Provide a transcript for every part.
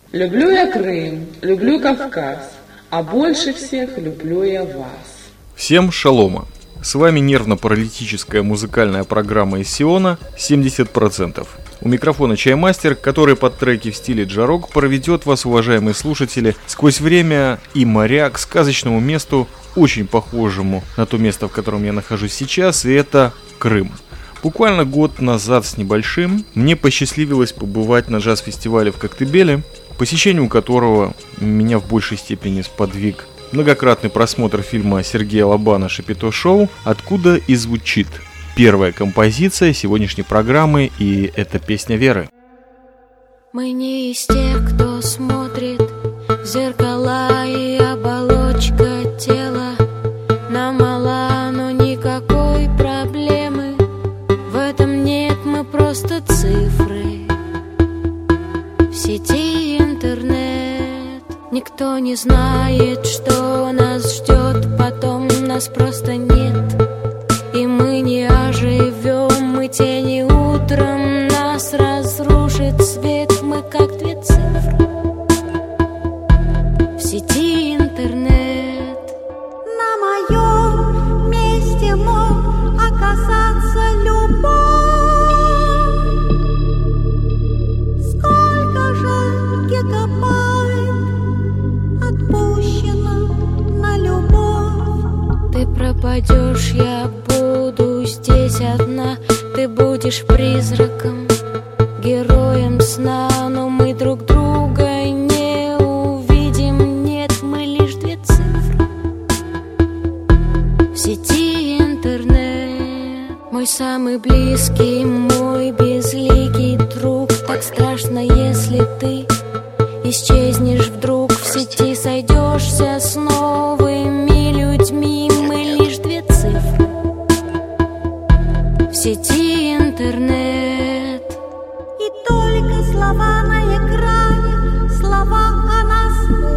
Люблю я Крым, люблю Кавказ, а больше всех люблю я вас. Всем шалома! С вами нервно-паралитическая музыкальная программа из Сиона «70%». У микрофона Чаймастер, который под треки в стиле джарок проведет вас, уважаемые слушатели, сквозь время и моря к сказочному месту, очень похожему на то место, в котором я нахожусь сейчас, и это Крым. Буквально год назад с небольшим мне посчастливилось побывать на джаз-фестивале в Коктебеле, посещению которого меня в большей степени сподвиг многократный просмотр фильма Сергея Лобана «Шапито Шоу», откуда и звучит первая композиция сегодняшней программы, и это песня Веры. Мы не из тех, кто смотрит в зеркала, и оболочка тела нам мала, но никакой проблемы в этом нет, мы просто цифры в сети интернет. Никто не знает, что нас ждет потом, нас просто нет. И мы не оживем, мы тени утром, нас разрушит свет, мы как две цифры в сети интернет. На моем месте мог оказаться любовь. Сколько же гигабайт отпущено на любовь. Ты пропадешь, я буду здесь одна. Ты будешь призраком, героем сна, но мы друг друга не увидим. Нет, мы лишь две цифры в сети интернет. Мой самый близкий, мой безликий друг. Так страшно, если ты исчезнешь вдруг в сети, сойдешься с новыми людьми. Мы лишь две цифры в сети интернет. И только слова на экране, слова о нас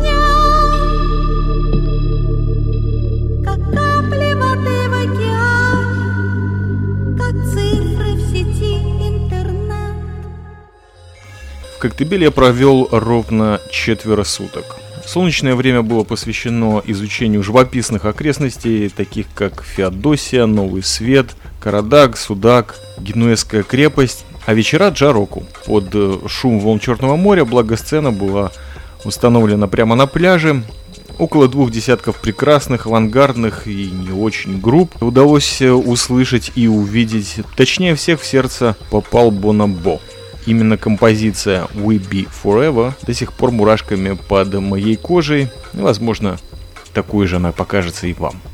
нет. Как капли воды в океане, как цифры в сети интернет. В Коктебеле я провел ровно 4 суток. Солнечное время было посвящено изучению живописных окрестностей, таких как Феодосия, Новый Свет, Карадаг, Судак, Генуэзская крепость, а вечера джароку. Под шум волн Черного моря благосцена была установлена прямо на пляже. Около 2 десятков прекрасных, авангардных и не очень групп удалось услышать и увидеть. Точнее всех в сердце попал Бурна Бой. Именно композиция «We Be Forever» до сих пор мурашками под моей кожей. И, возможно, такой же она покажется и вам.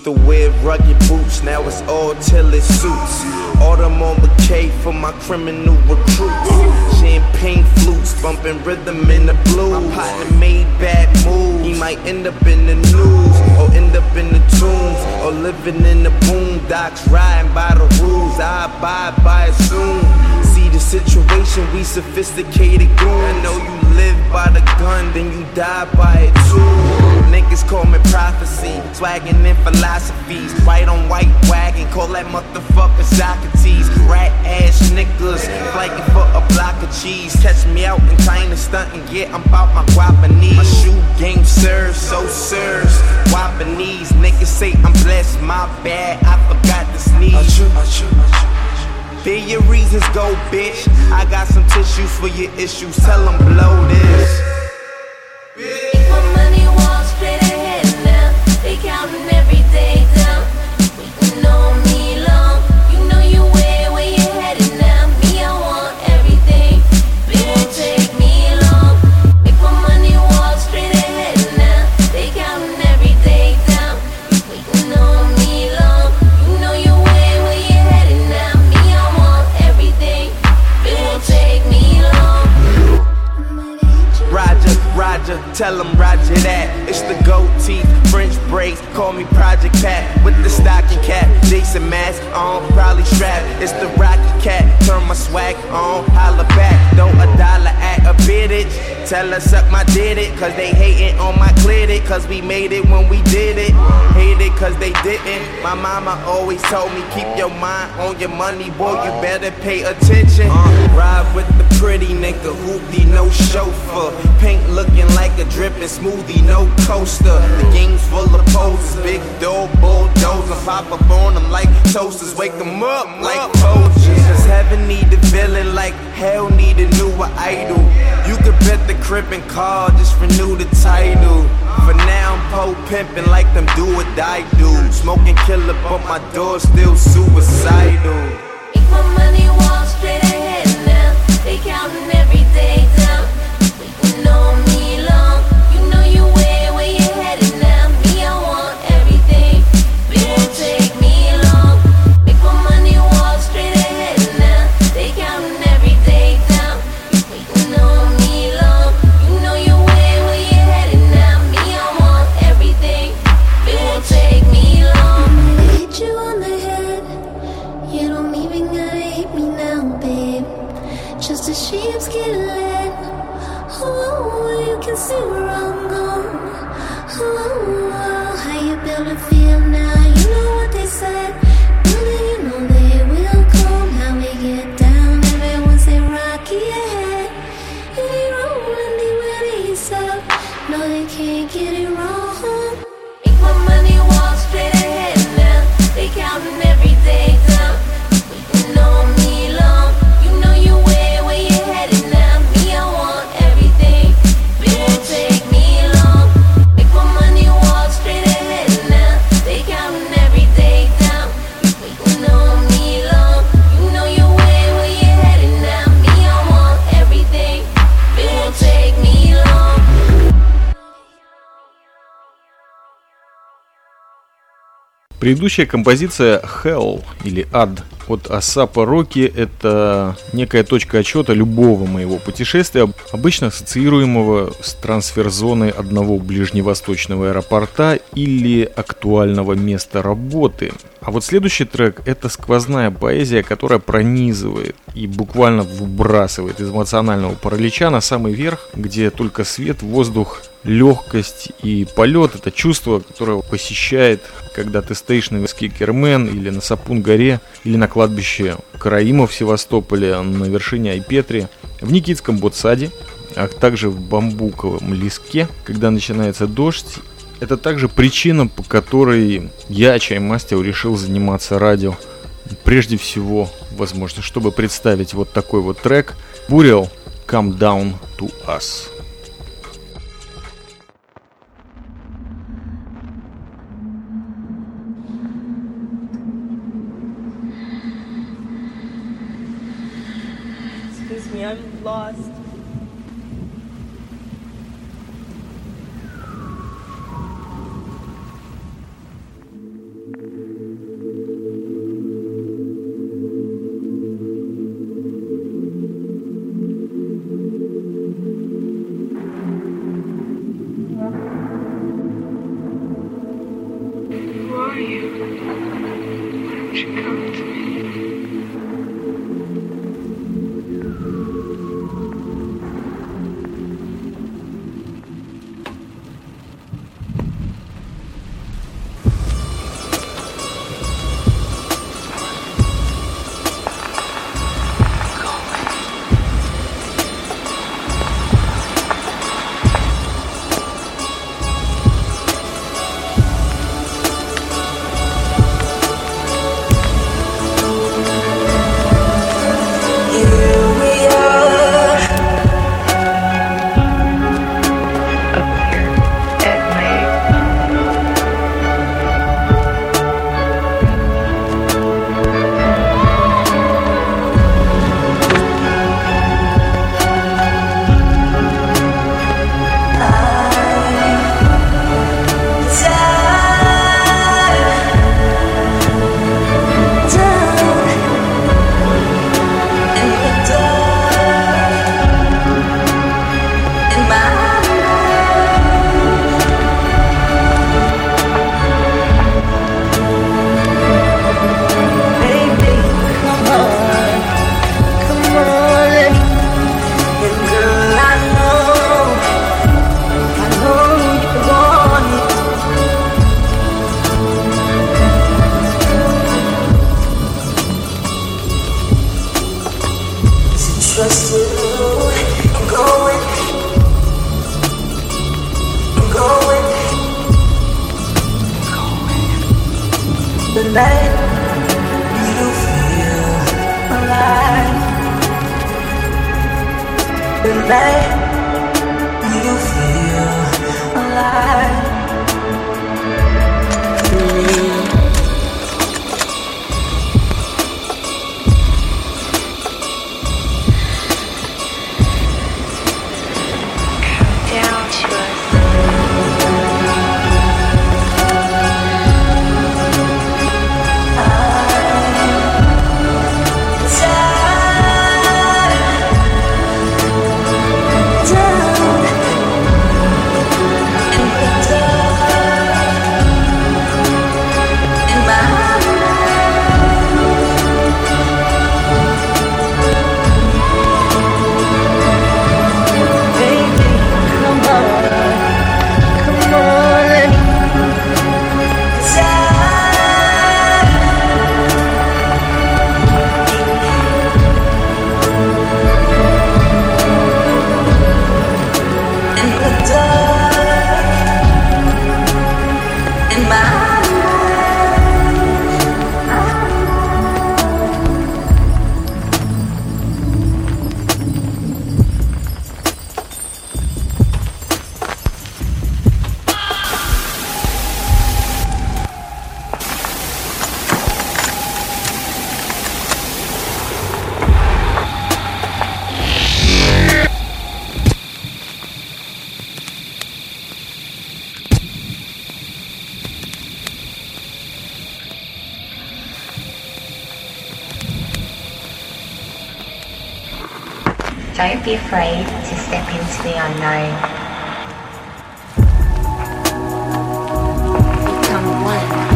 to wear rugged boots, now it's all tailored suits. Autumn on bouquet for my criminal recruits. Champagne flutes, bumping rhythm in the blues. My partner made bad moves, he might end up in the news, or end up in the tombs, or living in the boondocks, riding by the rules. I abide by it soon. See the situation, we sophisticated goons. I know you live by the gun, then you die by it too. Niggas call me prophecy, swaggin' in philosophies. White on white wagon, call that motherfucker Socrates. Rat ass niggas, flagging for a block of cheese. Catch me out in China stuntin', yeah, I'm bout my guapanese. My shoe game serves, so serves guapanese. Niggas say I'm blessed, my bad, I forgot to sneeze. There your reasons go, bitch. I got some tissues for your issues, tell them blow this. If my money walks straight ahead now, they counting every day down. You know me long, you know you where you headed now. Me, I want everything, it won't take me long. If my money walks straight ahead now, they counting every day down. You know me long, you know you where you headed now. Me, I want everything, it won't take me long. Roger, tell him Roger that. It's the gold teeth, French braids, call me Project Pat. With the stocking cap, Jason mask on, probably strapped. It's the Rocky Cat, turn my swag on, holla back. Throw $1 at a biddage, tell her suck my did it. Cause they hating on my cleared it, cause we made it when we did it. Hate it cause they didn't. My mama always told me keep your mind on your money, boy, you better pay attention. Ride with the pretty nigga, hoopty, no chauffeur. Paint looking like a dripping smoothie, no coaster. The game's full of posters, big dog bulldozer. Pop up on them like toasters, wake them up like poachers. Cause heaven need a villain like hell need a newer idol. You could bet the crib and car, just renew the title. For now I'm pole pimping like them do or die dudes. Smoking killer but my door still suicidal. If my money walks straight ahead now, they counting every day down. You know me long, you know you where you headed now. Me, I want everything, it won't take me long. If my money walks straight ahead now, they counting every day down. You know me long, you know you where you headed now. Me, I want everything, it won't take me long. Hit you on the head, you don't even gotta hit me now, babe. Just a sheepskin leg. Oh, you can see where I'm going. Oh, how you build a feel now? You know what they said. You know they will come. How we get down, everyone say rocky ahead. If you rolling, they will ease up. No, they can't get it wrong. If my money walks straight ahead now, they counting every day down. You know me long, you know you where you headed now. Me, I want everything, it won't take me long. If my money walks straight ahead now, they counting every day down. You know me long, you know you where you headed now. Me, I want everything, it won't take me long. Предыдущая композиция Hell или Ад от Асапа Роки — это некая точка отсчета любого моего путешествия, обычно ассоциируемого с трансфер-зоной одного ближневосточного аэропорта или актуального места работы. А вот следующий трек — это сквозная поэзия, которая пронизывает и буквально выбрасывает из эмоционального паралича на самый верх, где только свет, воздух, легкость и полет — это чувство, которое посещает, когда ты стоишь на высоке Кермен или на Сапун-горе, или на кладбище Караима в Севастополе, на вершине Айпетри, в Никитском Ботсаде, а также в Бамбуковом леске, когда начинается дождь. Это также причина, по которой я, Чаймастер, решил заниматься радио. Прежде всего, возможно, чтобы представить вот такой вот трек Burial Come Down to Us. Excuse me, I'm lost. Don't be afraid to step into the unknown. Become one.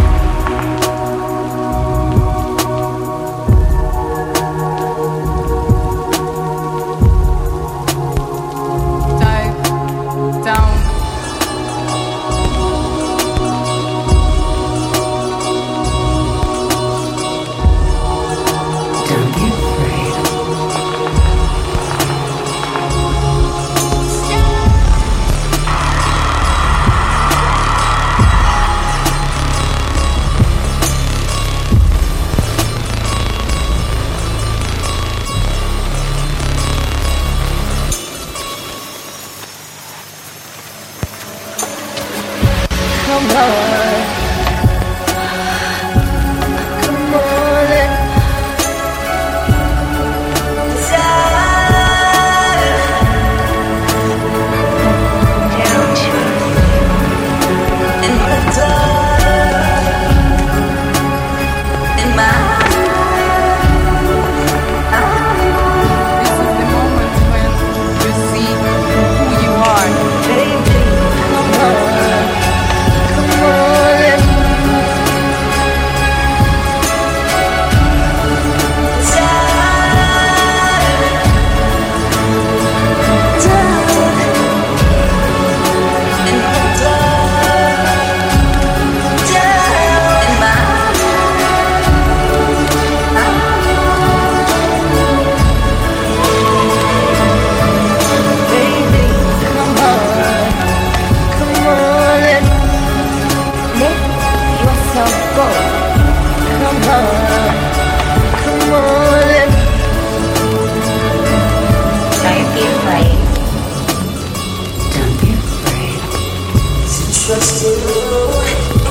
Come on.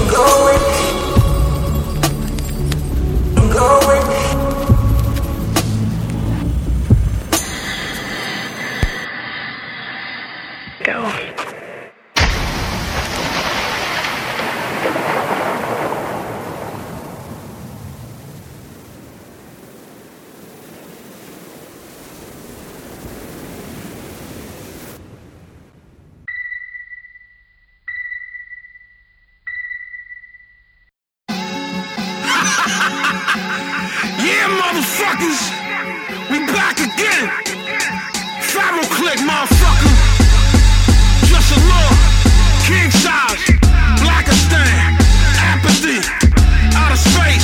Yeah, motherfuckers, we back again. Pharaoh Click, motherfucker. Just a law, king size, Blackistan, apathy, out of space,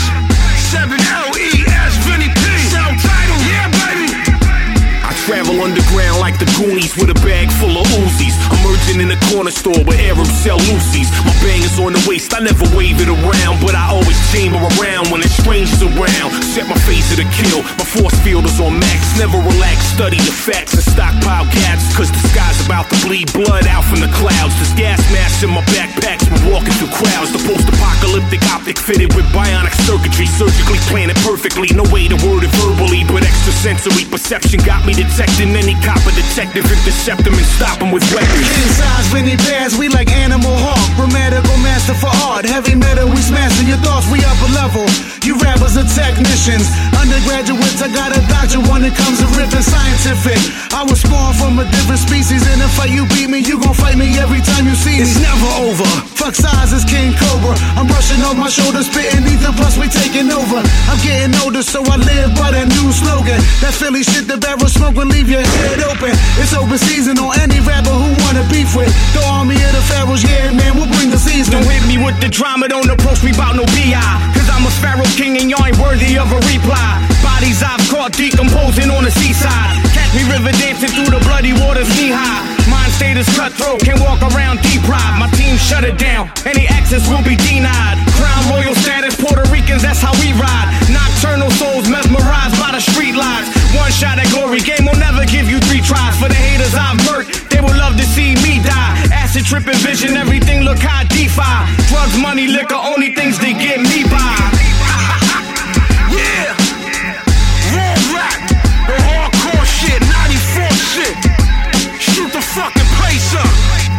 7LES, Vinny P. Self-titled, yeah, baby. I travel underground like the Goonies with a bag full of Uzis. Emerging in a corner store where Arabs sell Lucy's. My bangers on the waist, I never wave it around, but I always chamber around when there's strangers around. Set my face to the kill, my force field is on max. Never relax, study the facts and stockpile gaps, cause the sky's about to bleed blood out from the clouds. There's gas masks in my backpacks, we're walking through crowds. The post-apocalyptic optic fitted with bionic circuitry, surgically planted perfectly. No way to word it verbally, but extrasensory perception got me detecting any copper detective. Intercept them and stop them with weapons. Inside Vinny Bears, we like Animal Hawk. Grammatical master for art. Heavy metal, we smashing your thoughts, we up a level. You rappers are technicians. Undergraduates, I got a doctor when it comes to ripping scientific. I was spawned from a different species. In a fight you beat me, you gon' fight me every time you see me. It's never over. Fuck size is King Cobra. I'm brushing off my shoulders, spitting ether, plus we taking over. I'm getting older, so I live by that new slogan. That Philly shit, the barrel smoke will leave your head open. It's open season on any rapper who wanna beef with. The army of the pharaohs, yeah man, we'll bring the season. Don't hit me with the drama, don't approach me about no BI, cause I'm a pharaoh king and y'all ain't worthy of a reply. Bodies I've caught decomposing on the seaside. Catch me river dancing through the bloody waters knee high. Mind state is cutthroat, can't walk around deprived. My team shut it down, any access will be denied. Crown royal status, Puerto Ricans, that's how we ride. Nocturnal souls mesmerized by the street lights. One shot at glory, game will never give you 3 tries. For the haters I've murked, they would love to see me die. Acid tripping vision, everything look high DeFi. Drugs, money, liquor, only things they get me by. Yeah, raw rap, the hardcore shit, 94 shit. Shoot the fucking place up.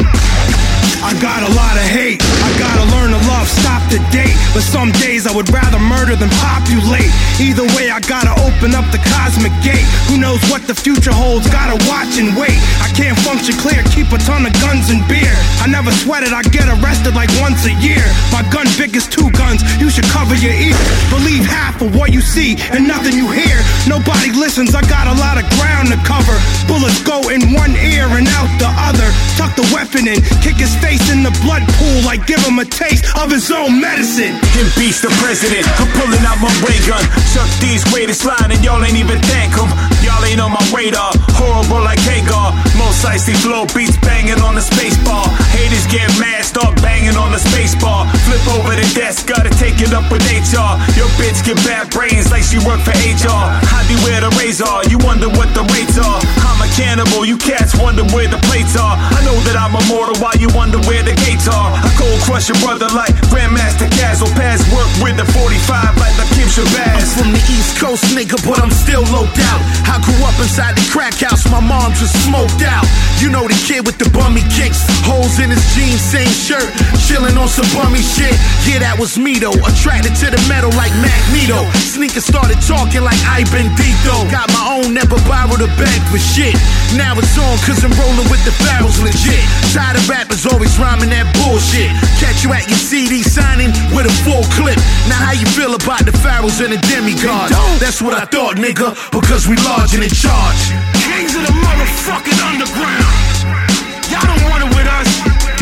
I got a lot of hate, I gotta learn to love, stop the date. But some days I would rather murder than populate. Either way I gotta open up the cosmic gate. Who knows what the future holds, gotta watch and wait. I can't function clear, keep a ton of guns and beer. I never sweat it, I get arrested like once a year. My gun big as 2 guns, you should cover your ears. Believe half of what you see and nothing you hear. Nobody listens, I got a lot of ground to cover. Bullets go in one ear and out the other. Tuck the weapon in, kick his face in the blood pool like give him a taste of his own medicine. Him beast the president, I'm pulling out my ray gun. Chuck D's greatest line and y'all ain't even thank him. Y'all ain't on my radar, horrible like Hagar. Most icy flow beats banging on the space bar. Haters get mad, start banging on the space bar. Flip over the desk, gotta take it up with HR. Your bitch get bad brains like she work for HR. How do you wear the razor? You wonder what the rates are. I'm a cannibal, you cats wonder where the plates are. I know that I'm immortal while you wonder where the gates are. I cold crush your brother like Grandmaster Cazzle. Pass work with the 45 like the Kim Shabazz. I'm from the East Coast, nigga, but I'm still loped out. I grew up inside the crack house, my mom just smoked out. You know the kid with the bummy kicks, holes in his jeans, same shirt, chilling on some bummy shit. Yeah, that was me though, attracted to the metal like Magneto. Sneakers started talking like I Bendito. Got my own, never borrowed a bag for shit. Now it's on cause I'm rolling with the pharaohs legit. Tired of rappers always rhyming that bullshit. Catch you at your CD signing with a full clip. Now how you feel about the pharaohs and the demigods? That's what I thought, nigga, because we large and in charge. Kings of the motherfucking underground. Y'all don't want it with us.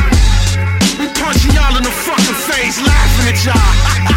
We punching y'all in the fucking face, laughing at y'all.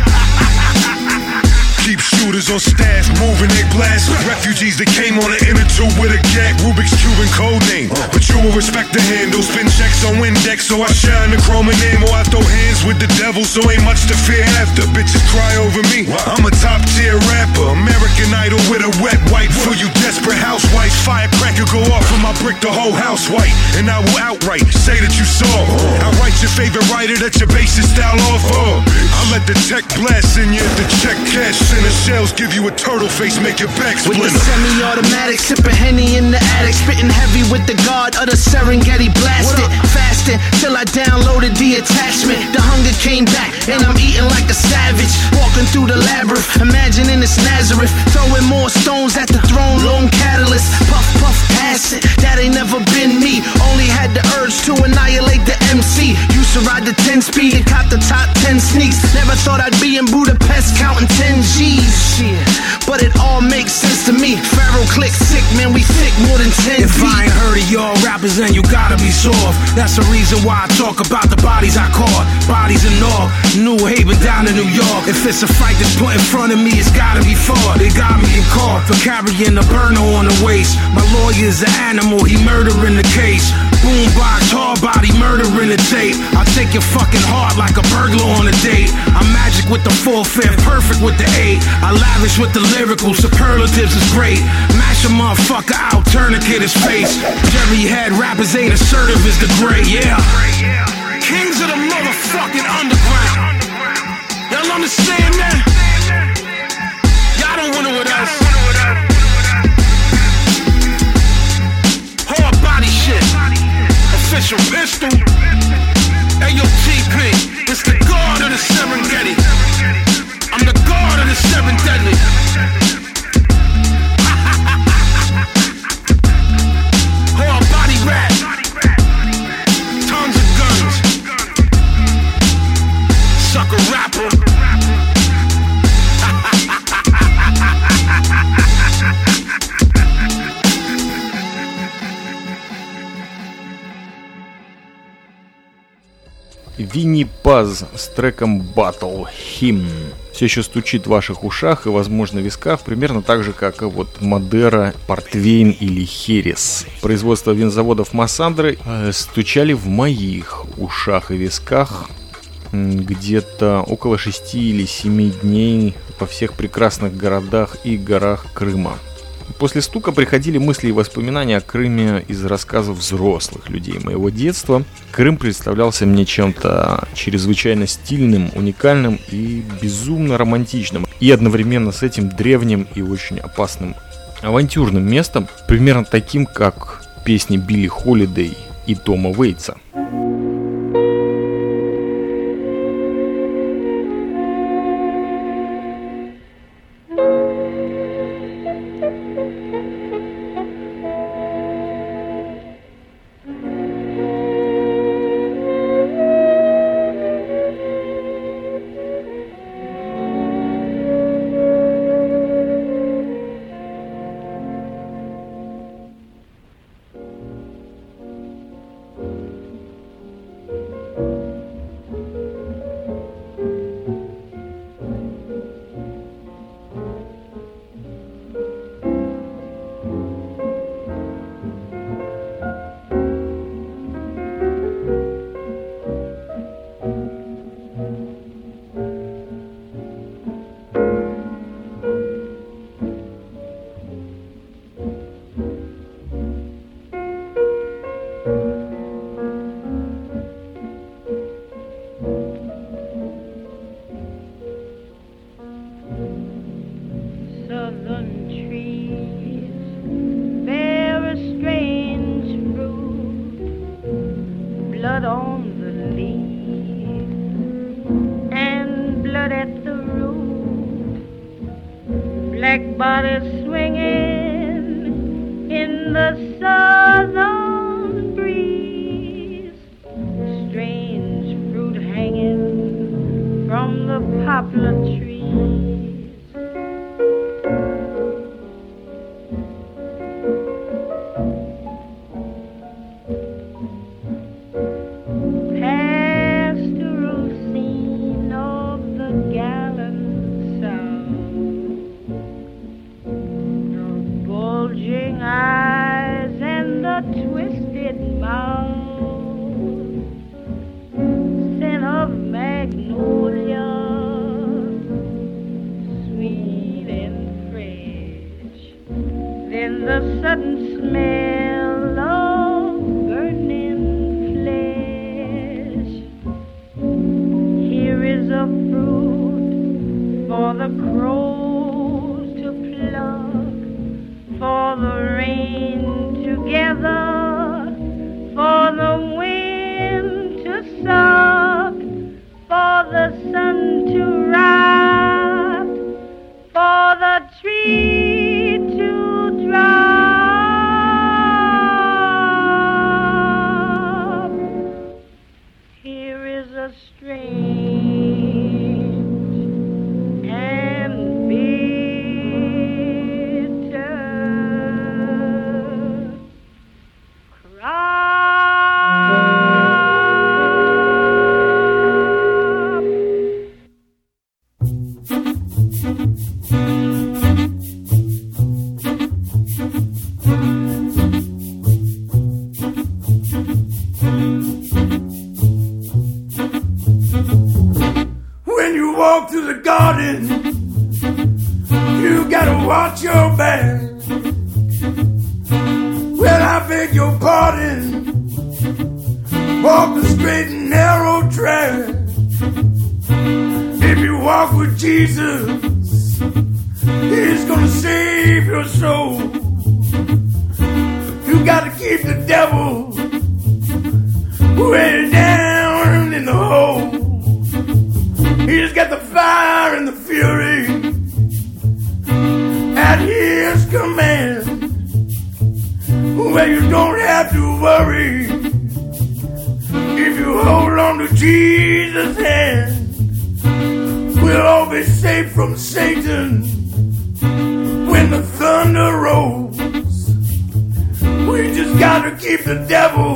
Keep shooters on stash, moving they blast. Refugees that came on an inner tube with a gag, Rubik's Cube and code name. But you will respect the handle, spin checks on Windex, so I shine the chrome and name. Or I throw hands with the devil. level, so ain't much to fear after. Bitches cry over me, I'm a top tier rapper. American Idol with a wet wipe for you desperate housewives. Firecracker go off when I brick the whole house white, and I will outright say that you saw. I write your favorite writer that your basic style off of. I let the tech blast in you, the check cash in the shells give you a turtle face, make your back splinter. With the semi-automatic, sipping Henny in the attic, spitting heavy with the guard of the Serengeti blasted. Fasting till I downloaded the attachment. The hunger came back and I'm eating like a savage. Walking through the labyrinth, imagining it's Nazareth. Throwing more stones at the throne, lone catalyst. Puff, puff, acid, that ain't never been me. Only had the urge to annihilate the MC. Used to ride the 10-speed and cop the top 10 sneaks. Never thought I'd be in Budapest counting 10 G's. Shit, but it all makes sense to me. Pharaoh click sick, man, we sick more than 10 If I ain't heard of y'all rappers, then you gotta be soft. That's the reason why I talk about the bodies I caught. Bodies in North, New Haven down in New York. If it's a fight that's put in front of me, it's gotta be fought. They got me in court for carrying a burner on the waist. My lawyer's an animal, he murdering the case. Boombox, hard body, murdering the tape. I'll take your fucking heart like a burglar on a date. I'm magic with the 4/5, perfect with the 8. I lavish with the lyrical, superlatives is great. Mash a motherfucker out, tourniquet his face. Jerry head rappers ain't assertive as the gray, yeah. Kings of the motherfucking underground. Y'all understand that? Y'all don't winner with us. Hard body shit. Official pistol. Ayo TP. It's the god of the Serengeti. I'm the god of the seven deadly. Hard body rap. Tons of guns. Sucker rapper. Винни Паз с треком Battle Hymn все еще стучит в ваших ушах и, возможно, висках, примерно так же, как и вот Мадера, Портвейн или Херес. Производство винзаводов Массандры стучали в моих ушах и висках где-то около 6 или 7 дней во всех прекрасных городах и горах Крыма. После стука приходили мысли и воспоминания о Крыме из рассказов взрослых людей моего детства. Крым представлялся мне чем-то чрезвычайно стильным, уникальным и безумно романтичным. И одновременно с этим древним и очень опасным авантюрным местом, примерно таким, как песни Билли Холидей и Тома Уэйтса. Scent of magnolia. the fruit for the crows to pluck, for the rain to gather, for the wind to suck, for the sun to rise, for the tree to drop. Here is a strange and bitter cry. When you walk through the garden, you gotta watch your back. Well, I beg your pardon. Walk the straight and narrow track. If you walk with Jesus, He's gonna save your soul. You gotta keep the devil way down in the hole. He's got the fire and the fury at His command. Well, you don't have to worry if you hold on to Jesus' hand. We'll all be safe from Satan when the thunder rolls. We just gotta keep the devil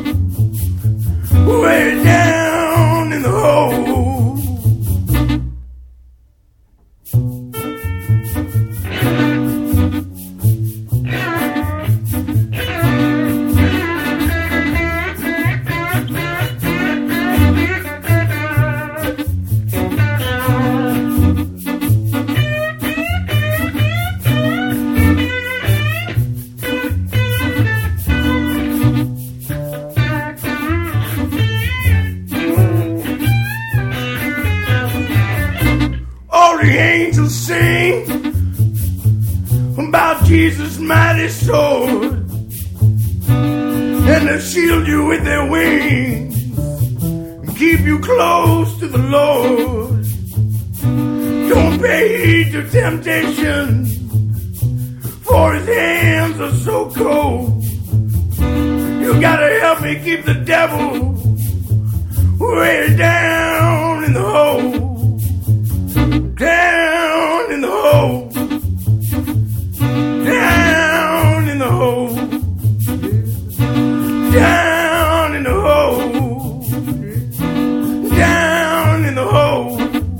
way down in the hole. The angels sing about Jesus' mighty sword, and they'll shield you with their wings and keep you close to the Lord. Don't pay heed to temptation, for His hands are so cold. You gotta help me keep the devil way down in the hole. Down in the hole, down in the hole, down in the hole, down in the hole,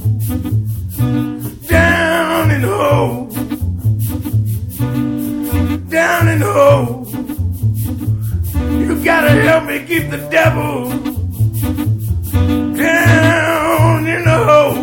down in the hole, down in the hole. You gotta help me keep the devil down in the hole.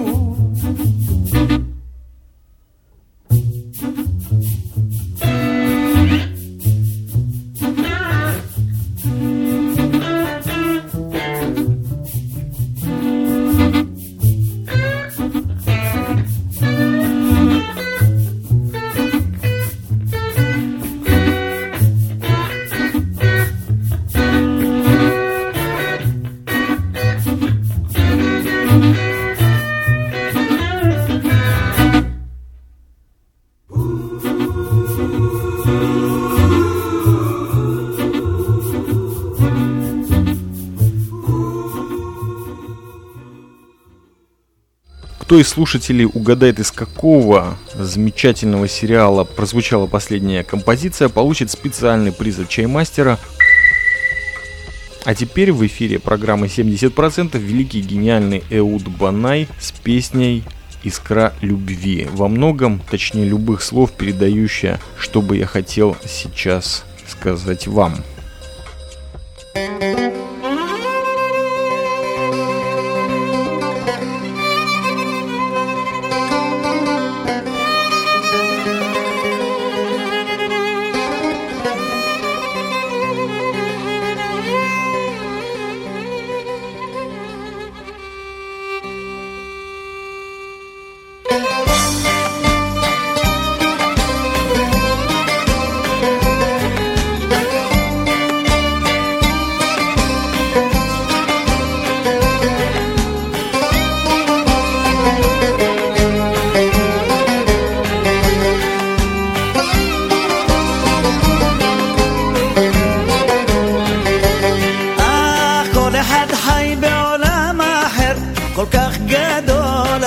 Кто из слушателей угадает, из какого замечательного сериала прозвучала последняя композиция, получит специальный приз от Чаймастера. А теперь в эфире программы 70% великий гениальный Эуд Банай с песней «Искра любви». Во многом, точнее любых слов, передающая, что бы я хотел сейчас сказать вам.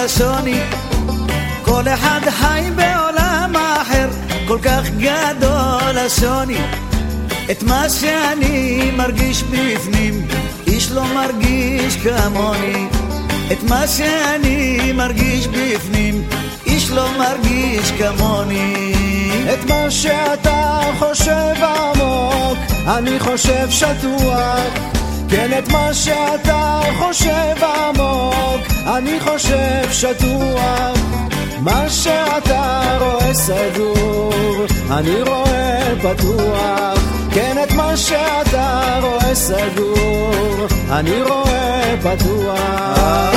השוני, כל אחד חי בעולם אחר, כל כך גדול השוני. את מה שאני מרגיש בפנים, איש לא מרגיש כמוני. את מה שאני מרגיש בפנים, איש לא מרגיש כמוני. את מה שאתה חושב עמוק, אני חושב שטוח. כן, את מה שאתה חושב עמוק, אני חושב שטוח. מה שאתה רואה סגור, אני רואה פתוח. כן, את מה שאתה רואה סגור, אני רואה פתוח.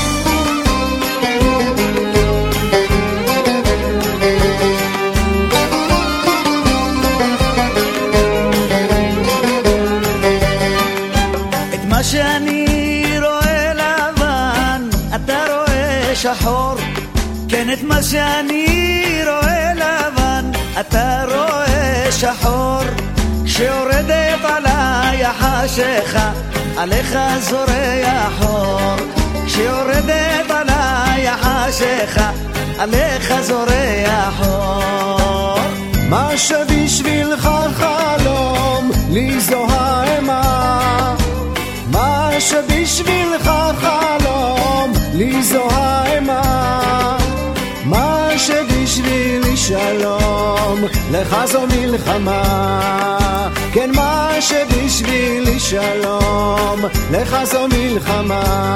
את מה שאני רואה לבן, אתה רואה שחור. כן, את מה שאני רואה לבן, אתה רואה שחור. כשיורדת עליי החשיכה, עליך זורח אור. כשיורדת עליי החשיכה, עליך זורח אור. מה שבשבילך חלום, לי זו האימה. מה שבשבילך חלום, לי זו האימה. מה שבשבילי שלום, לך זו מלחמה. כן, מה שבשבילי שלום, לך זו מלחמה.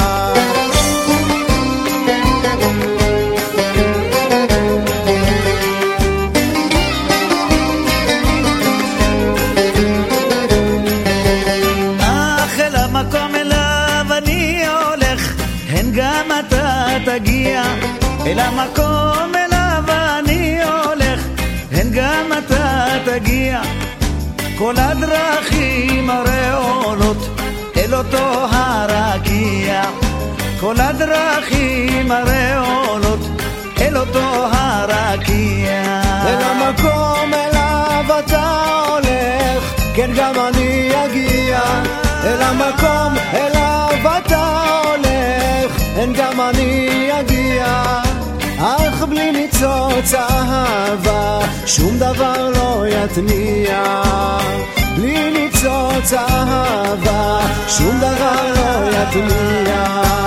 אך אל המקום אליו אני הולך, הן גם אתה תגיע. אל המקום אליו אני הולך, הן גם אתה תגיע. כל הדרכים הרי עולות אל אותו הרקיע. כל הדרכים הרי עולות אל אותו הרקיע. אל המקום אליו אתה הולך, כן גם אני אגיע. אל המקום אליו אתה הולך, כן גם אני אגיע. אך בלי ניצוץ אהבה שום דבר לא יתניע. בלי ניצוץ אהבה שום דבר לא יתניע.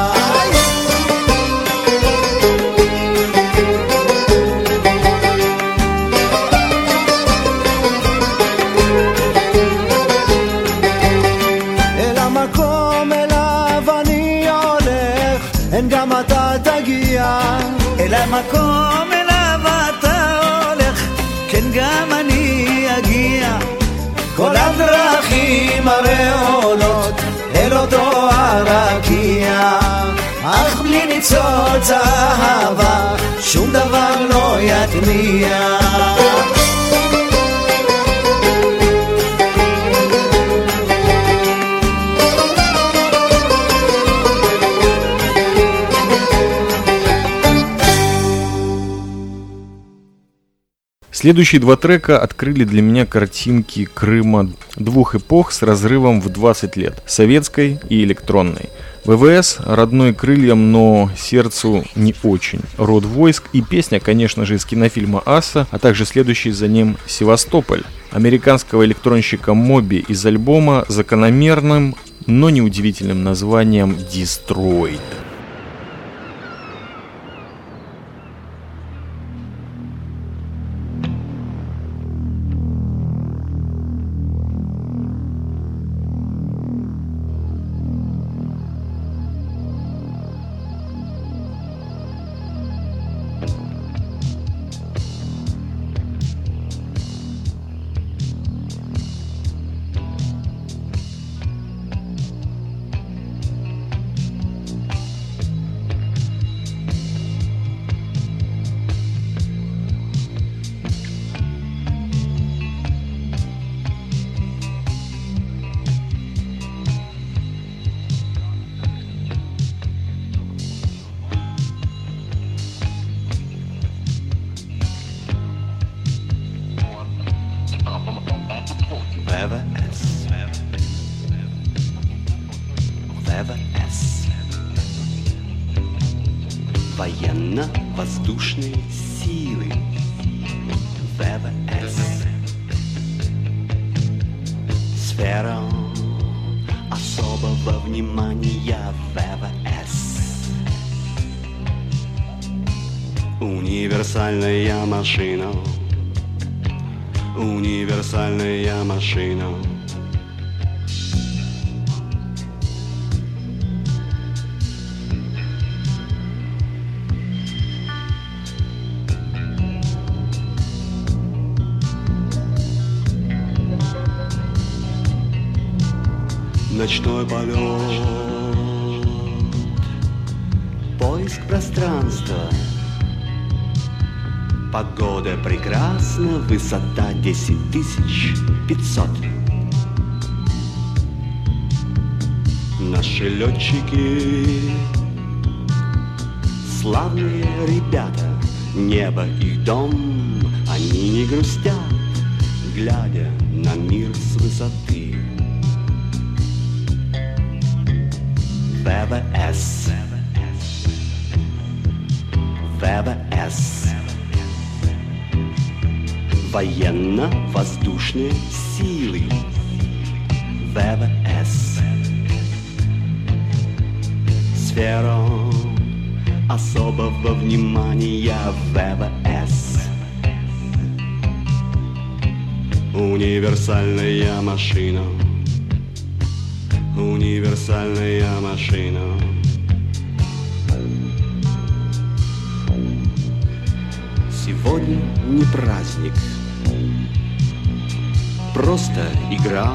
אל המקום אליו אני הולך, אין גם אתה תגיע. אל המקום אליו אתה הולך, כן גם אני אגיע. כל הדרכים הרי עולות אל אותו הרקיע. אך בלי ניצוץ אהבה שום דבר לא יתניע. Следующие два трека открыли для меня картинки Крыма двух эпох с разрывом в 20 лет – советской и электронной. ВВС родной крыльям, но сердцу не очень. Род войск и песня, конечно же, из кинофильма «Асса», а также следующий за ним «Севастополь» американского электронщика Моби из альбома с закономерным, но неудивительным названием «Destroyed». военно-воздушные силы ВВС. Сфера особого внимания ВВС. Универсальная машина, универсальная машина. Ночной полет, поиск пространства. Погода прекрасна, высота 10500. Наши летчики, славные ребята, небо их дом, они не грустят, глядя на мир с высоты. ВВС, ВВС, военно-воздушные силы ВВС. Сфера особого внимания ВВС. Универсальная машина, универсальная машина. Сегодня не праздник, просто игра.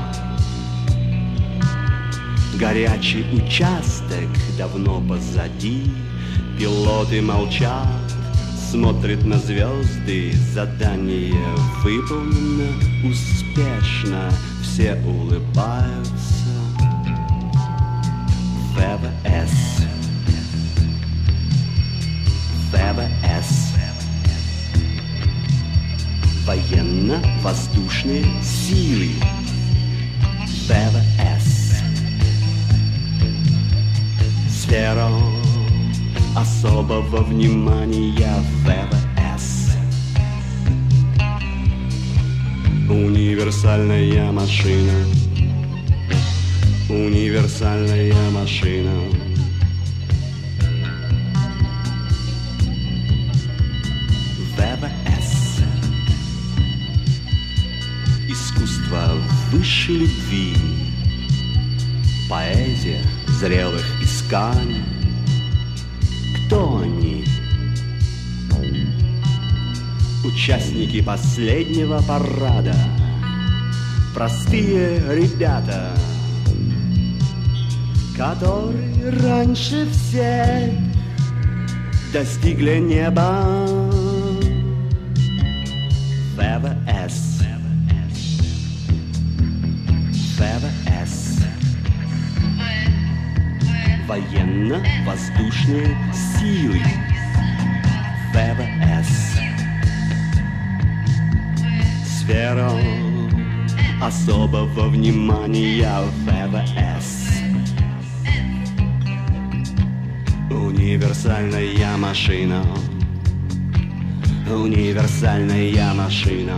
Горячий участок давно позади. Пилоты молчат, смотрят на звезды. Задание выполнено успешно, все улыбаются. ВВС, ВВС, военно-воздушные силы ВВС. Сфера особого внимания ВВС. Универсальная машина, универсальная машина. ВВС. Искусство высшей любви, поэзия зрелых исканий. Кто они? Участники последнего парада, простые ребята, которые раньше всех достигли неба. ВВС, ВВС, военно-воздушные силы ВВС. Сфера особого внимания ВВС. Универсальная машина, универсальная машина.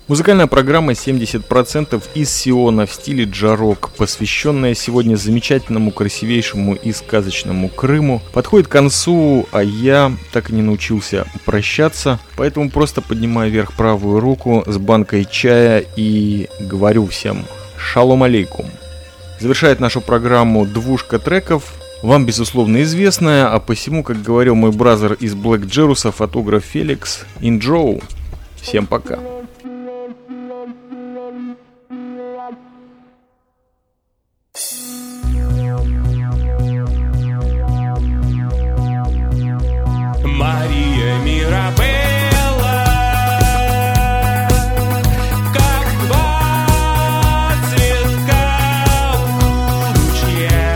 Музыкальная программа 70% из Сиона в стиле джарок, посвященная сегодня замечательному, красивейшему и сказочному Крыму, подходит к концу, а я так и не научился прощаться, поэтому просто поднимаю вверх правую руку с банкой чая и говорю всем шалом алейкум. Завершает нашу программу двушка треков, вам безусловно известная, а посему, как говорил мой бразер из Блэк Джеруса, фотограф Феликс, инджоу. Всем пока. Мария Мирабелла, как два цветка у ручья,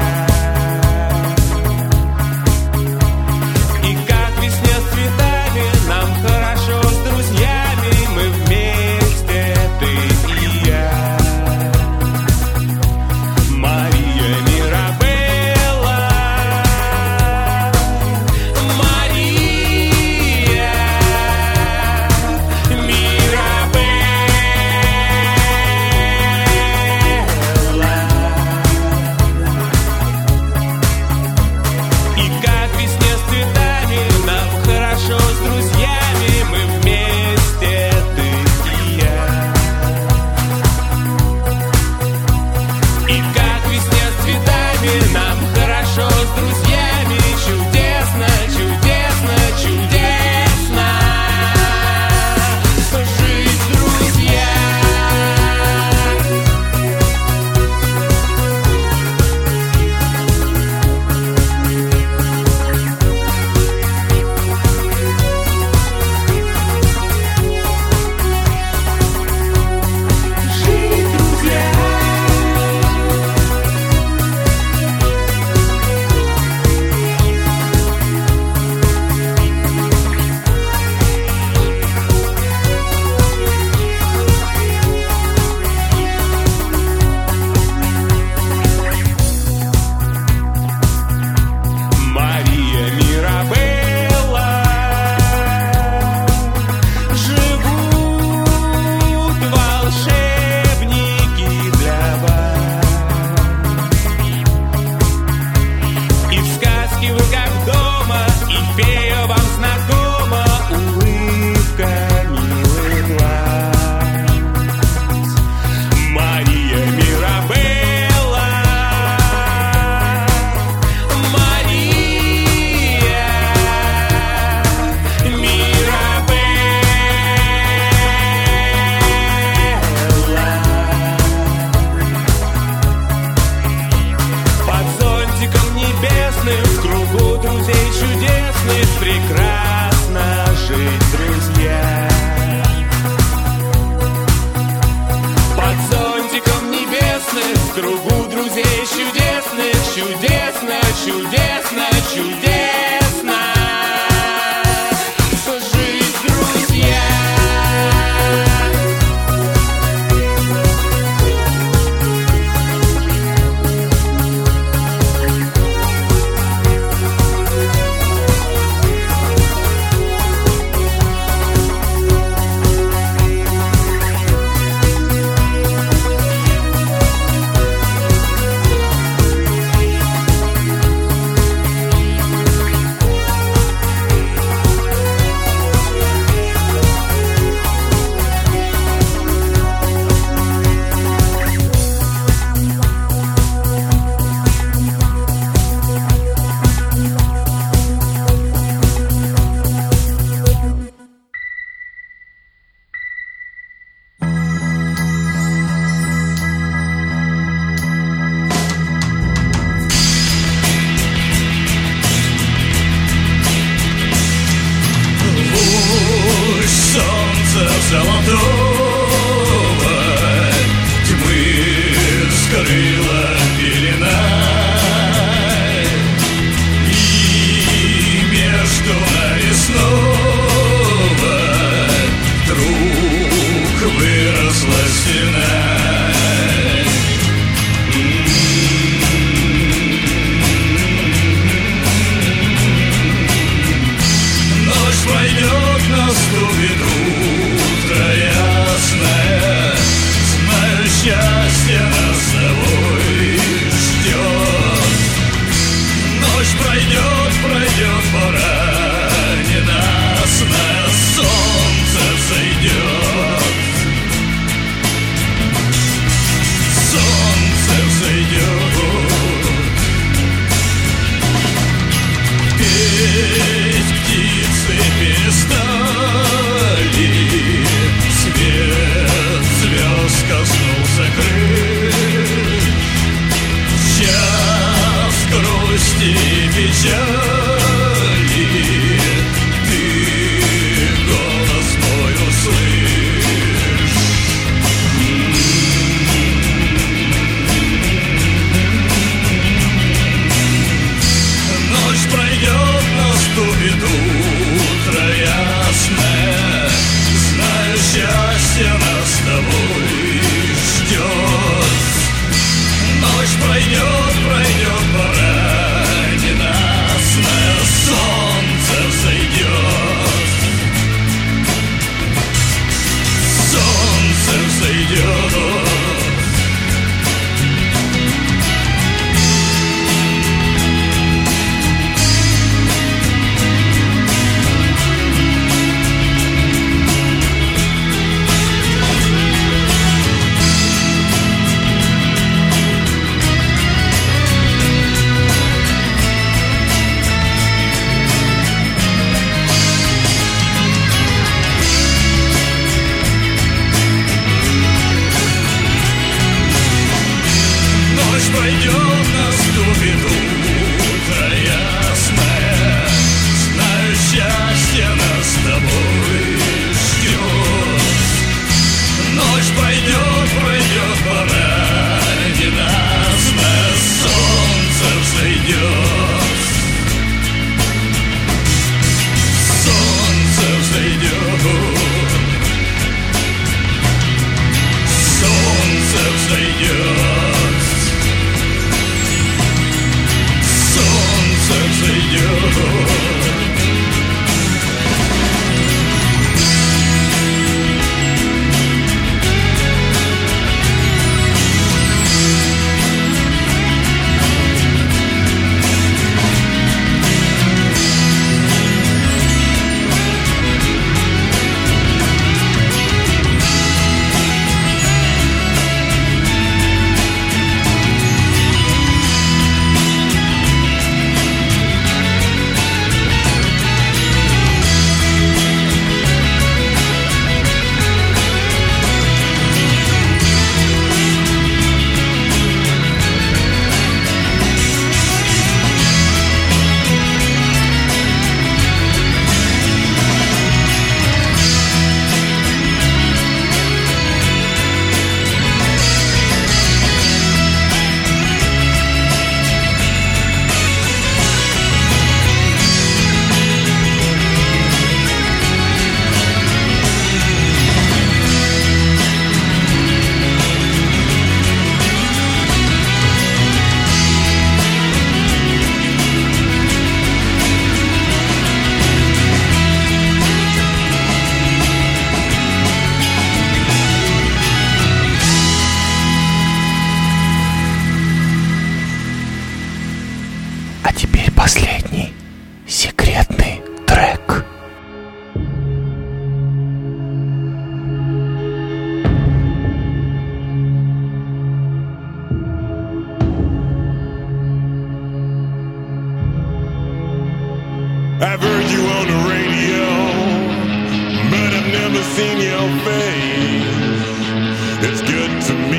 и как весне с цветами нам хорошо с друзьями, мы вместе, ты и я. Мария Мирабелла, пройдет, наступит утро ясное. Знаю, счастье нас с тобой ждет. Ночь пройдет, пройдет, пора ненастная, солнце взойдет. Солнце взойдет. Солнце взойдет. Солнце взойдет. Последний секретный трек. I've heard you on the radio, but I've never seen your face. It's good to me.